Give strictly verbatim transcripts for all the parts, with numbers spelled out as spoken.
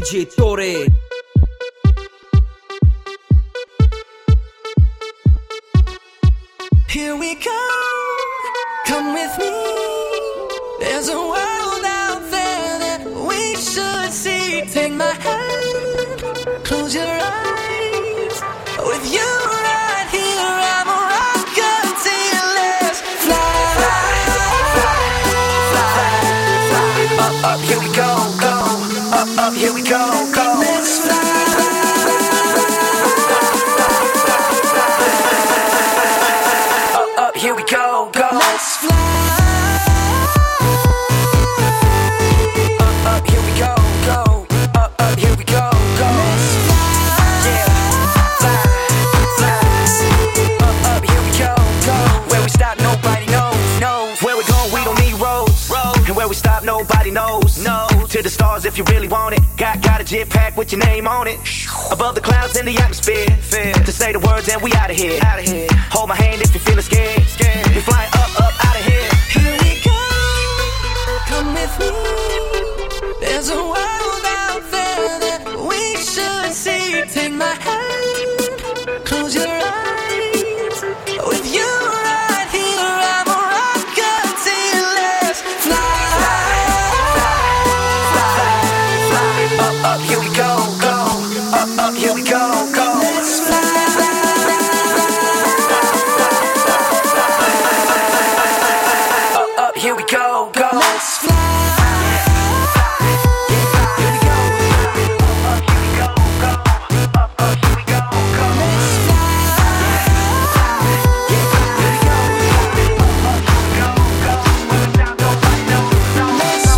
J Torre. Here we go, come with me. There's a world out there that we should see. Take my hand, close your eyes. With you right here, I'm a rocket. Let's fly, fly, fly, fly. Up, up, here we go, go. Up, up, here we go, go. Let's fly. Here we go, go. Let's fly. Up, up, here we go, go. Up, up, here we go, go. Let's fly. Yeah, fly, fly. Up, up, here we go, go. Where we stop, nobody knows, knows. Where we going, we don't need roads, roads. And where we stop, nobody knows, no. To the stars if you really want it. Got, got a jetpack with your name on it. Above the clouds in the atmosphere. Fair. To say the words and we out of here. Out of here. Hold my hand if you're feeling scared. Scared. We flying up, up, out of here. Here we go. Come with me. There's a world out there that we should see. Take my hand. Close your eyes. With you right here, I'm a rocket. Let's fly. Fly, fly, fly. Up, up, here we go, go. Up, up, here we go, go. Let's fly. Up, up, here we go, go. Let's fly. Here we go. Up, here we go, go. Up, up, here we go, go. Let's fly. Here we go. Up, up, here we go, go. Without nobody knows, no. Let's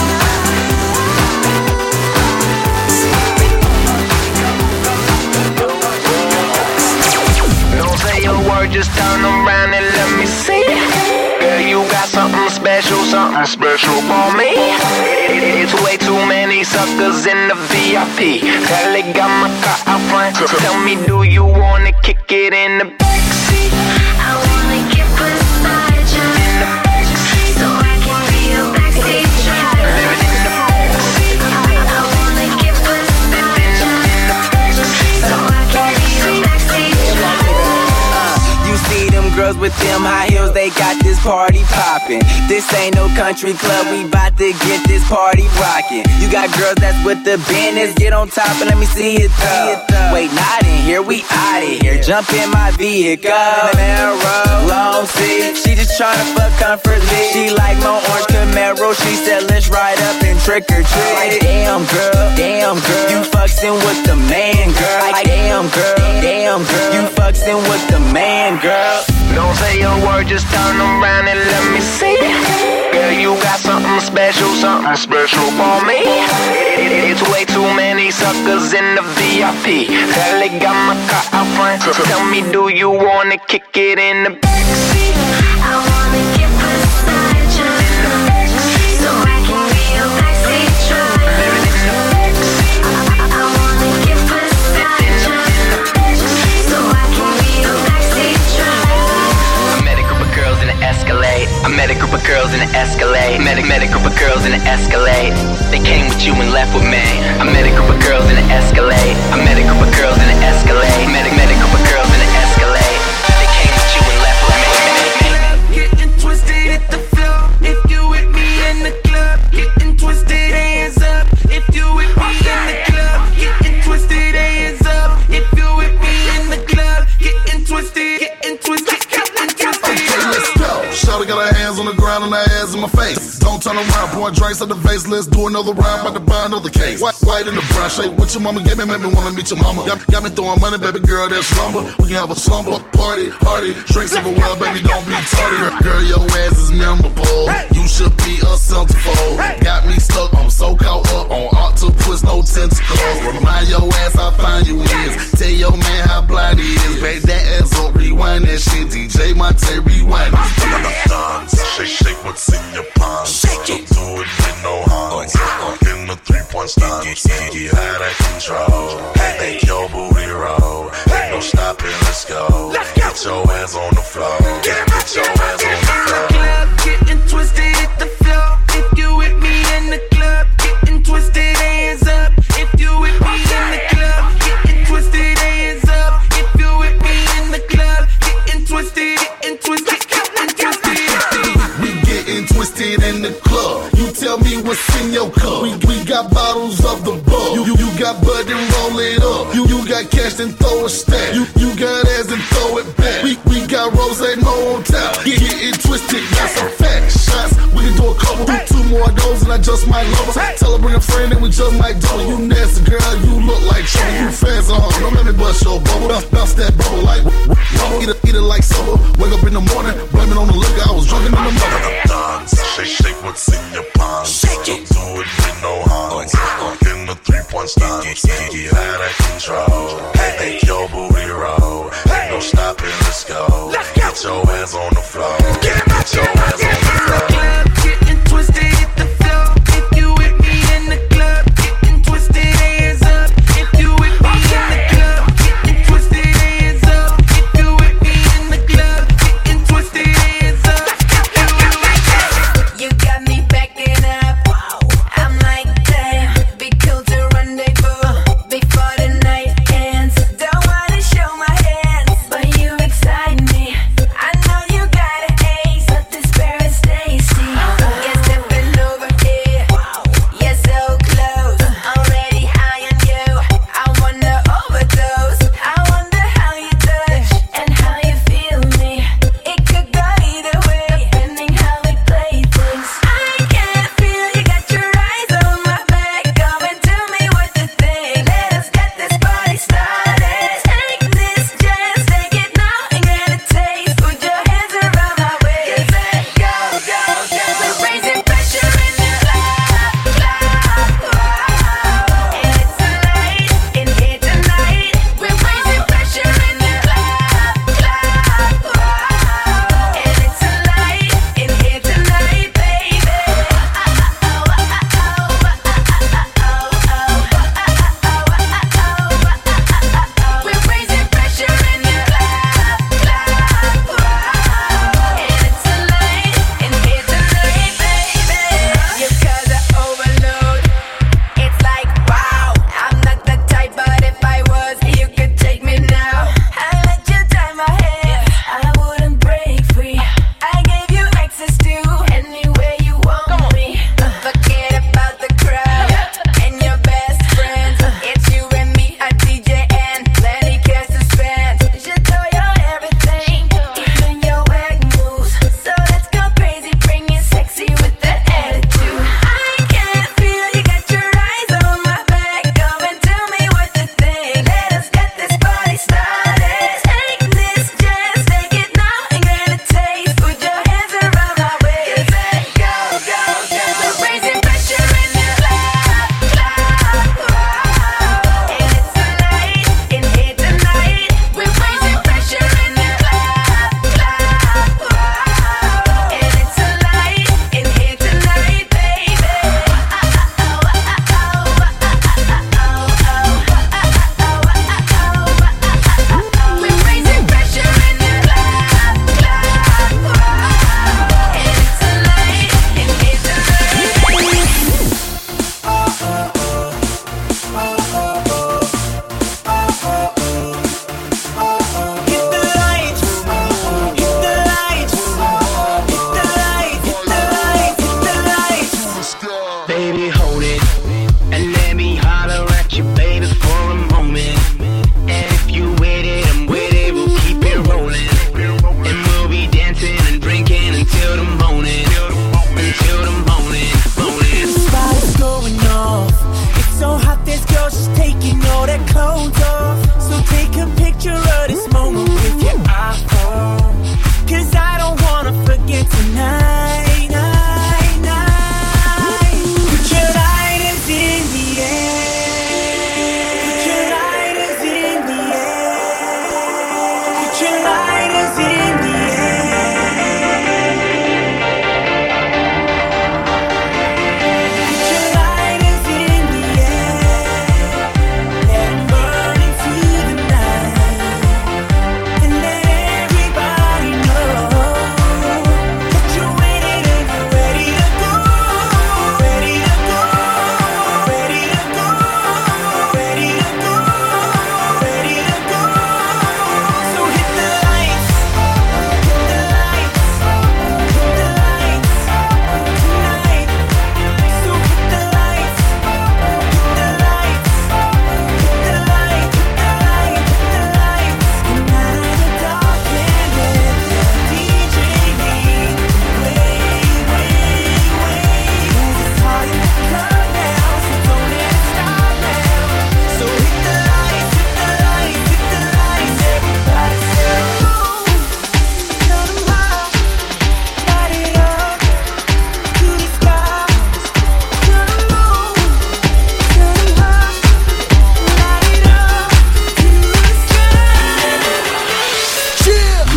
Don't say a word, just turn around and let me see. Girl, you got something special, something special for me. It's way too many suckers in the V I P. Girl, they got my car out front. Tell me, do you wanna kick it in the backseat? I wanna get beside you In the backseat. so I can be your backseat driver. In the backseat. I wanna get beside you In the backseat. so I can be your backseat driver. You see them girls with them high heels, they got this party poppin'. This ain't no country club, we bout to get this party rockin'. You got girls that's with the business, get on top and let me see it though. Wait, not in here, we outta here. Jump in my vehicle, Camaro, long seat. She just tryna fuck comfortably. She like my orange Camaro, she said let's ride up and trick or treat. Like damn girl, damn girl, you fucking with the man girl. Like damn girl, damn girl, you fucking with the man girl. Don't say a word, just turn around and let me see. Girl, you got something special, something special for me. It's way too many suckers in the V I P. Girl, they got my car out front. Tell me, do you wanna kick it in the backseat? I wanna get beside you so I can be your backseat driver. I wanna get beside you so I can be your backseat driver. I met a group of girls in an Escalade. I met a group of girls in an Escalade. Met a, met a group of girls in an Escalade. They came with you and left with me. I met a group of girls in an Escalade. I met a group of girls in an Escalade. Met a, met a group of girls in an Escalade. They came with you and left with me. Getting twisted at the floor. If you with me in the club, getting twisted, hands up. If you with me in the club, getting twisted, hands up. If you with me in the club, getting twisted, getting twisted, getting twisted. Okay, let's go. Shawty got her hands on the ground and her ass in my face. Don't turn around, pouring drinks at the face. Let's do another round, about to buy another case. White, white in the brown shade. What your mama gave me, made me wanna meet your mama. Got, got me throwing money, baby girl, that's slumber. We can have a slumber party, party. Drinks everywhere, baby, don't be tardy. Girl, your ass is memorable. You should be a centerfold. Got me stuck, I'm so caught up on octopus, no tentacles. Remind your ass how fine you is. Tell your man how blind he is. Back that ass up, rewind that shit. D J Monte, rewind it. Dance, shake, shake what's in your pants. Shake it. Do it with no hands. In the three-point stance, get out of control. Make your booty roll. Ain't no stopping, let's go. Get your hands on the floor. Get your hands on the floor. Club, getting twisted at the floor. If you with me in the club, getting twisted, hands up. If you a couple. Do two more of those and I just might love her. Tell her bring a friend and we just might double. You nasty girl, you look like trouble. You fast on her, don't let me bust your bubble. Bounce, bounce that bubble like bubble. Eat it, eat it like supper. Wake up in the morning, blame it on the liquor. I was drunk in the mother. Dance, shake, shake what's in your palms. Shake it. Do it with no harms. In the three-point stance, get out of control. Make your booty roll. Ain't no stopping, let's go. Get your hands on the floor. Get your hands on the floor. Getting twisted, hit the floor. If you with me in the club, getting twisted, hands up. If you with me in the club, getting twisted, hands up. If you with me in the club, getting twisted, hands up. You got me backing up. I'm like, damn, be cool to rendezvous before the night ends.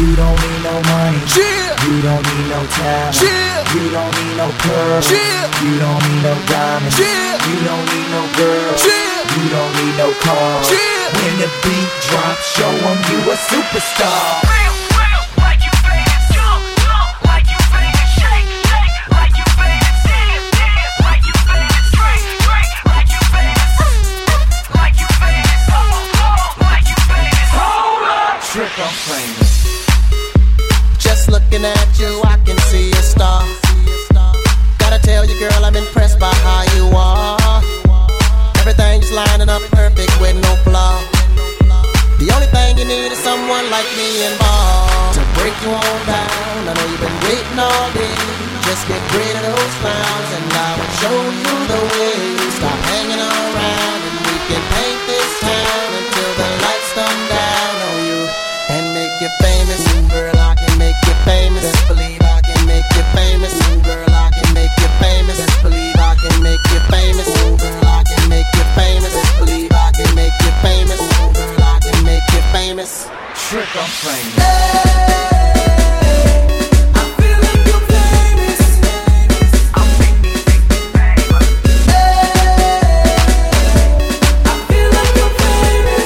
You don't need no money. Yeah. You don't need no talent. Yeah. You don't need no pearls. Yeah. You don't need no diamonds. Yeah. You don't need no girls. Yeah. You don't need no cars. Yeah. When the beat drops, show 'em you a superstar. Real, real, like you famous. Jump, jump, like you famous. Shake, shake, like you famous. Dance, dance, like you famous. Drink, drink, like you famous. Like you famous. Come on, come on, like you famous. Hold up. Trick, I'm famous. Just looking at you, I can see a star. Gotta tell you, girl, I'm impressed by how you are. Everything's lining up perfect with no flaw. The only thing you need is someone like me involved to break you on down. I know you've been waiting all day. Just get rid of those clowns and I will show you the way. Stop hanging around and we can paint this town until the lights come down on you and make you famous. Ooh, girl, I can make you famous. Best believe I can make you famous. Ooh, girl, I can make you famous. Best believe I can make you famous. Ooh, girl, I can make you famous. Best believe I can make you famous. Ooh, girl, I can make you famous. Trick, I'm famous. I feel like you're famous. I'm famous. I feel like you're famous.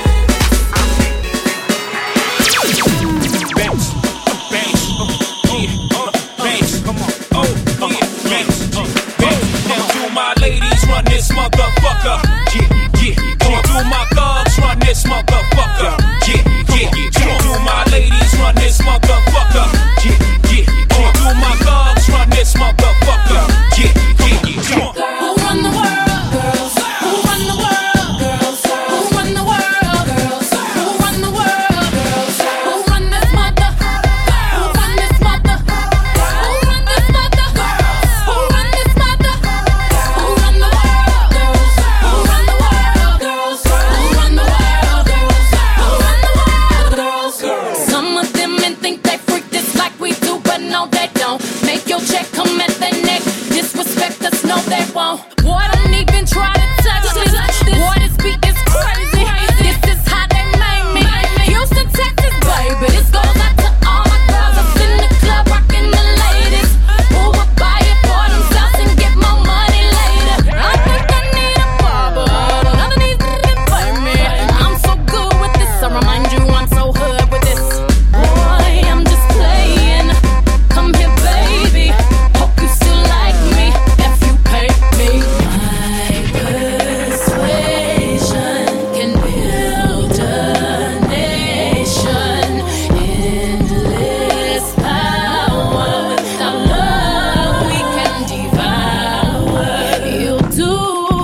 Bounce, bounce, yeah, uh, bounce, come on, oh, yeah, bounce, uh, bounce. Now do my ladies run this motherfucker? Yeah, yeah. Now do my thugs run this motherfucker? Yeah, yeah, yeah. Do my ladies run this motherfucker? Yeah, yeah. Now do my thugs run this motherfucker? Yeah, yeah, yeah. Who run the world, girls? Who run the world, girls? Who run the world, girls? Who run the world, girls? Who run this mother? Who run this mother? Who run this mother? Who run this mother? Who run the world, girls? Who run the world, girls? Who run the world, girls? Who run the world, girls? Some of them men think they freak this like we do, but no they don't. Make your check come at their neck. Disrespect us, no they won't. Boy, don't even try to touch this. Boy, this beat is crazy. This is how they made me. Houston, Texas, baby. This goes out to all my girls up in the club, rocking the ladies. Who would buy it for themselves and get more money later? I think I need a barber. None of these niggas play me. I'm so good with this. I remind you I'm so hood with this. Boy, I'm just playing. Come here, baby. Hope you still like me if you pay me. My persuasion can build a nation. Endless power. Without love, we can devour. You'll do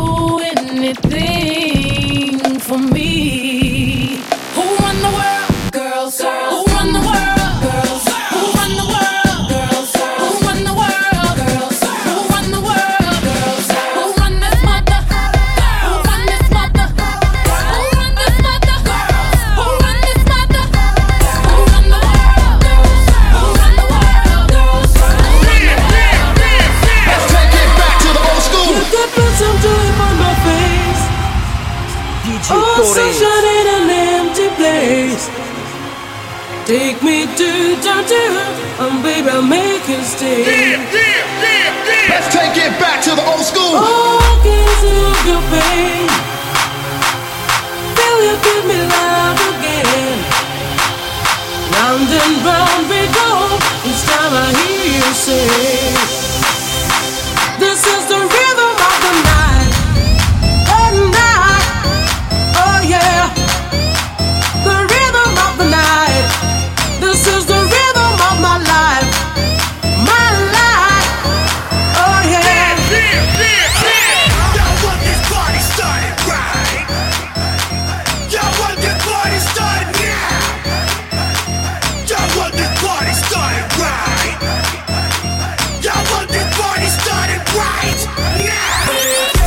anything for me. Who run the world, girls? Who run the world, girls? Who run the world, girls? Who run the world, girls? Who run the world, girls? Who run this mother? Who run this mother? Who run this mother? Who run this mother? Who run the world, girls? Who run the world, girls? Who run the world, girls? Let's take it back to the old school. You could put some drip on my face. Oh, sunshine in an empty place. Take me to downtown, and baby, I'll make you stay. Let's take it back to the old school. Oh, I can see your pain. Feel you give me love again. Round and round we go. Each time I hear you say, this is the rhythm of the night. Oh, night. Oh, yeah. The rhythm of the night. This is the rhythm of my life. My life. Oh, yeah. Y'all want this party started right? Y'all want this party started now? Y'all want this party started right? Y'all want this party started right now?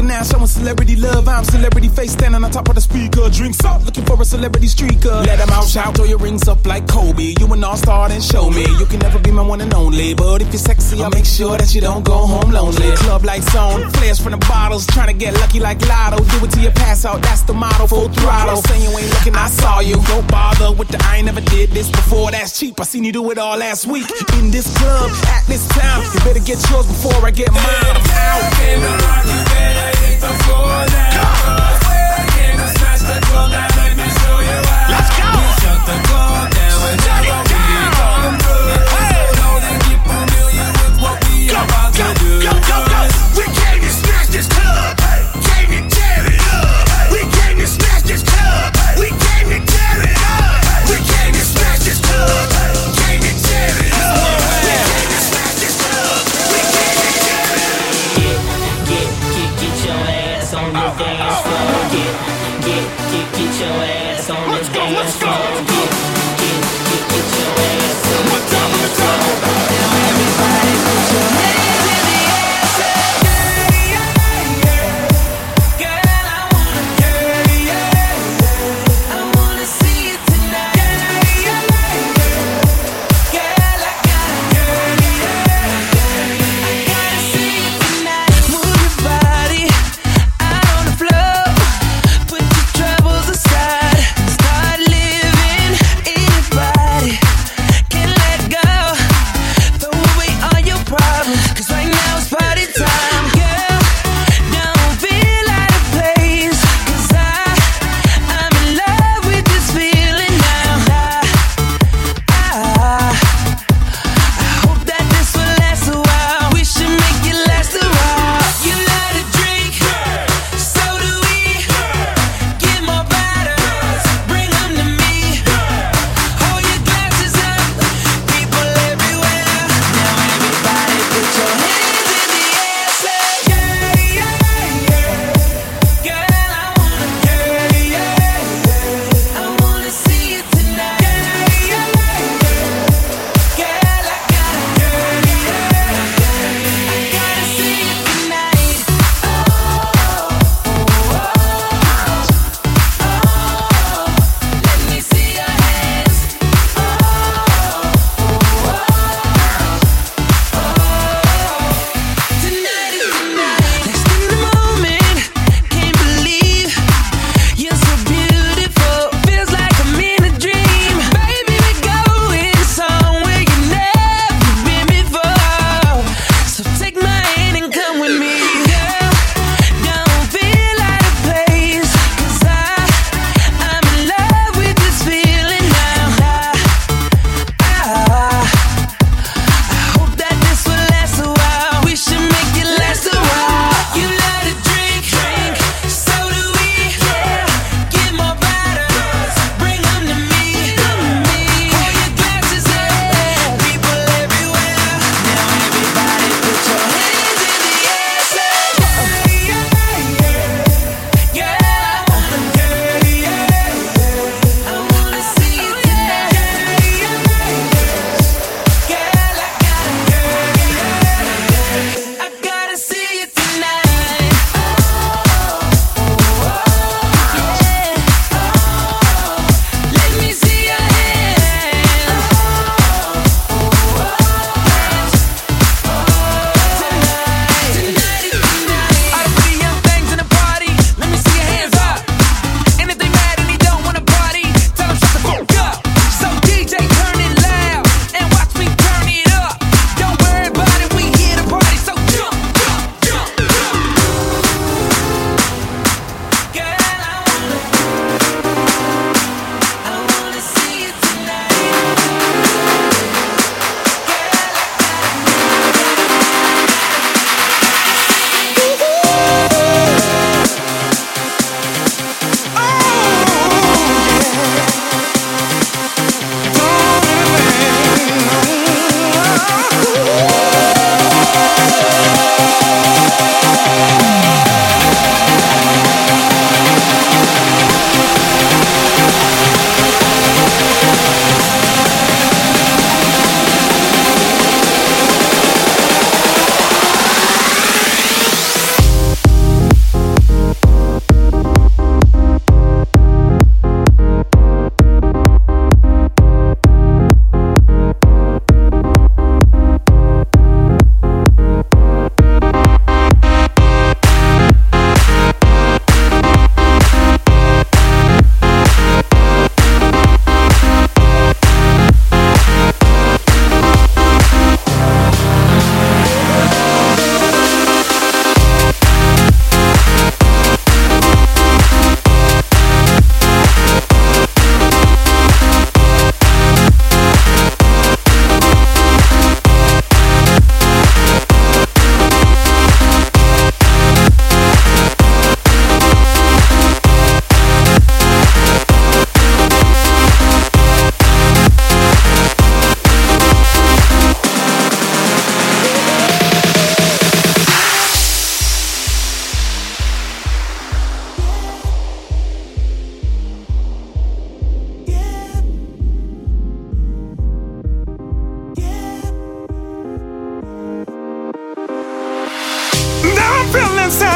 rockin' now, showing celebrity love. I'm celebrity face standing on top of the speaker. Drinks up, looking for a celebrity streaker. Let them out, shout, throw your rings up like Kobe. You an all-star, then show me. You can never be my one and only, but if you're sexy, I'll make sure that you don't go home lonely. Club lights on, flares from the bottles, trying to get lucky like Lotto. Do it till you pass out, that's the motto. Full throttle, saying you ain't looking, I saw you. Don't bother with the I ain't never did this before. That's cheap. I seen you do it all last week in this club at this time. You better get yours before I get mine. I'm out. Came to rock, you better hit the floor now. I came to smash the club now. Let me show you how. Let's go. We shut the club down whenever we come through. Know they get familiar with what we about to do. Go, go, go. We came to smash this club. Came to tear it up. We came to smash this club. We came to tear it up. We came to smash this club. Came to tear it up. We came to smash this club. We came to tear it up. Get, get, get your ass on the dance floor. Get, get, get, get your ass on the dance floor. Get, get, get, get your ass on the dance floor. Now everybody put your hands in the air. Say, yeah, yeah, yeah. Girl, I wanna, yeah, yeah, yeah. I wanna see you tonight. Yeah, yeah, yeah. Girl, I gotta, yeah, yeah, yeah. Gotta see you tonight. Move your body out on the floor. Put your troubles aside. Start living.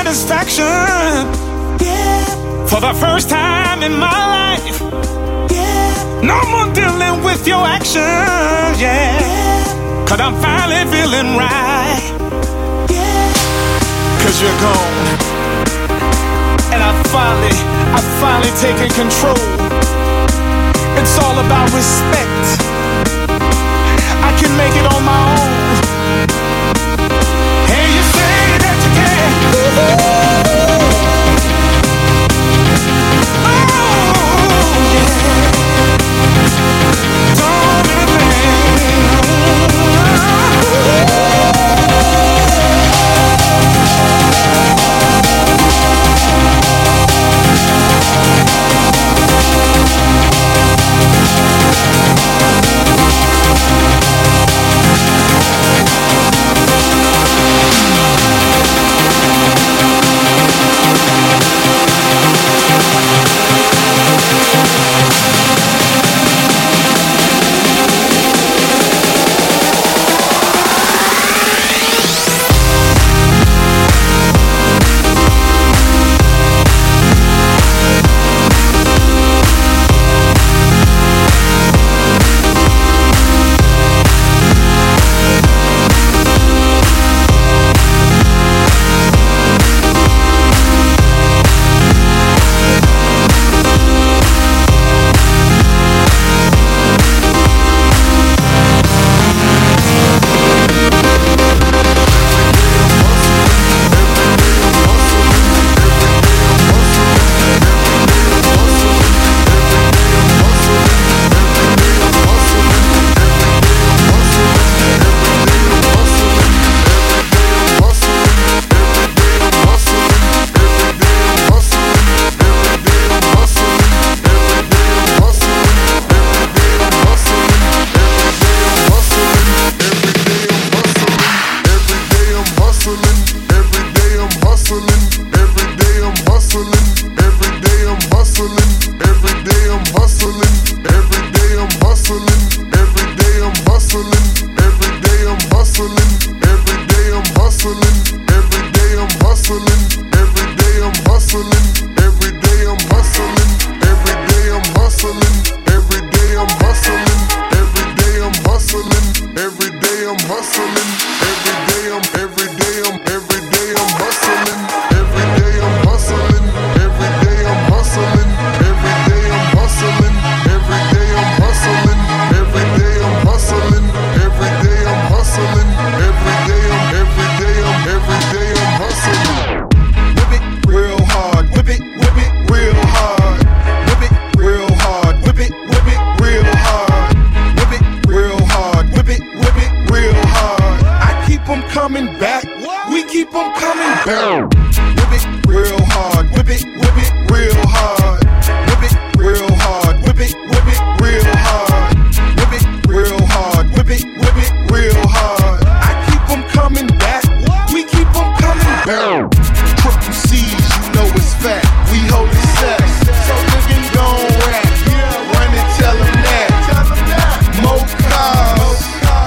satisfaction. Yeah. For the first time in my life. Yeah. No more dealing with your actions. Yeah. Yeah. Cause I'm finally feeling right. Yeah. Cause you're gone. And I finally, I finally taken control. It's all about respect. I can make it on my own. And you say that you can. Oh, yeah. Don't be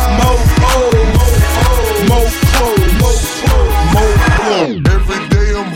Every day I'm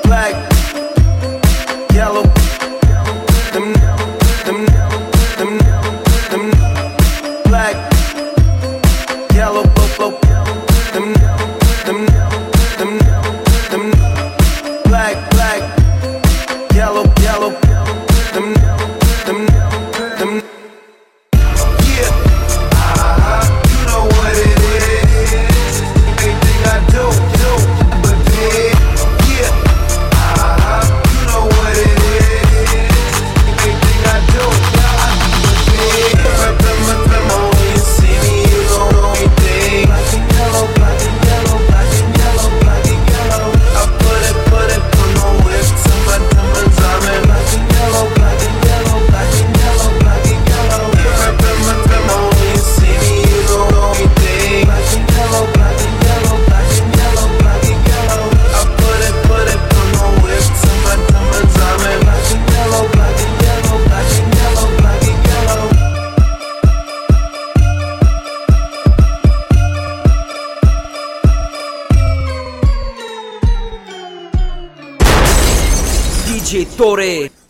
black, yellow. Them, them, them, them, black, yellow, blow, blow. Them, them, them, them, black, black, yellow, yellow. Them, them, them. Yeah, uh-huh. You know what it is. Anything I do, do, but yeah, yeah, uh-huh. You know what it is. Anything I do, I do, but yeah. Remember, remember when you see me, you don't know anything. Black and yellow, black and yellow, black and yellow, black and yellow. I put it, put it on my whip, to my diamonds, I'm in black and yellow, black and yellow, black and yellow, black and yellow. Remember, remember when you see me, you don't know anything. Black and yellow, black and yellow, black and yellow, black and yellow. I put it, put it on my whip, to my diamonds, I'm in black and yellow, black and yellow, black and yellow, black and yellow. D J Tore.